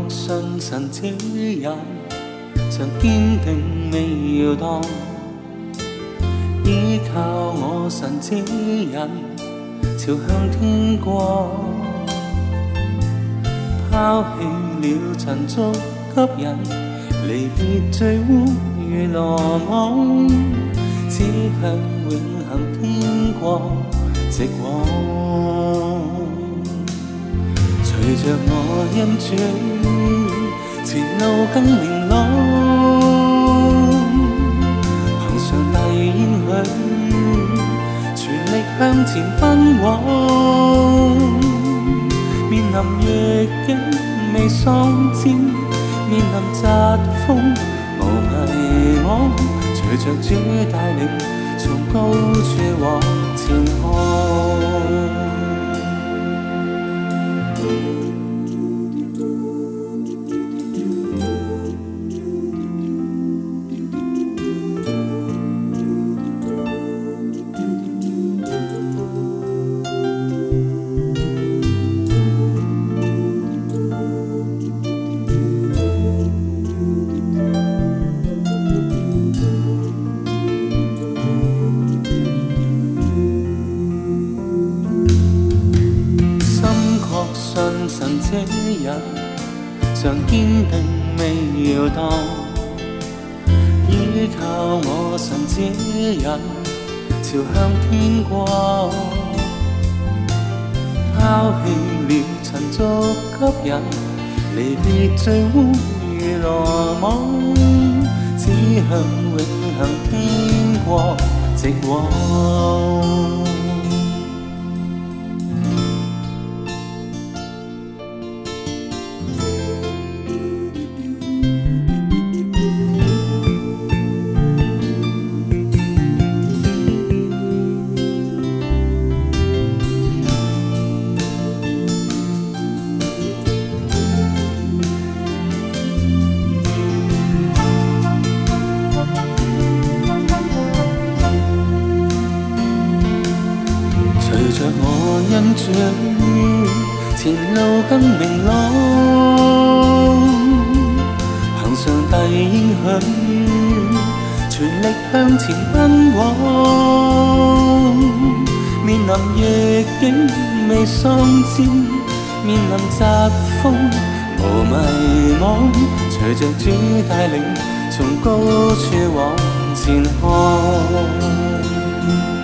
信神這人，常堅定未搖蕩。依靠我神這人，朝向天國。拋棄了塵俗吸引，離別最污如羅網，只向永恆天國直往。隨着我恩主，前路更明朗。憑上帝應許，全力向前奔往。面臨逆境未喪戰，面臨疾風無迷惘。隨着主帶領，從高處往前看。信神這人，常堅定未搖蕩。依靠我神這人，朝向天國。拋棄了塵俗吸引，離別最污如羅網，只向永恆天國直往。隨着我恩主，前路更明朗。憑上帝應許，全力向前奔往。面臨逆境未喪戰，面臨疾風無迷惘。隨着主帶領，從高處往前看。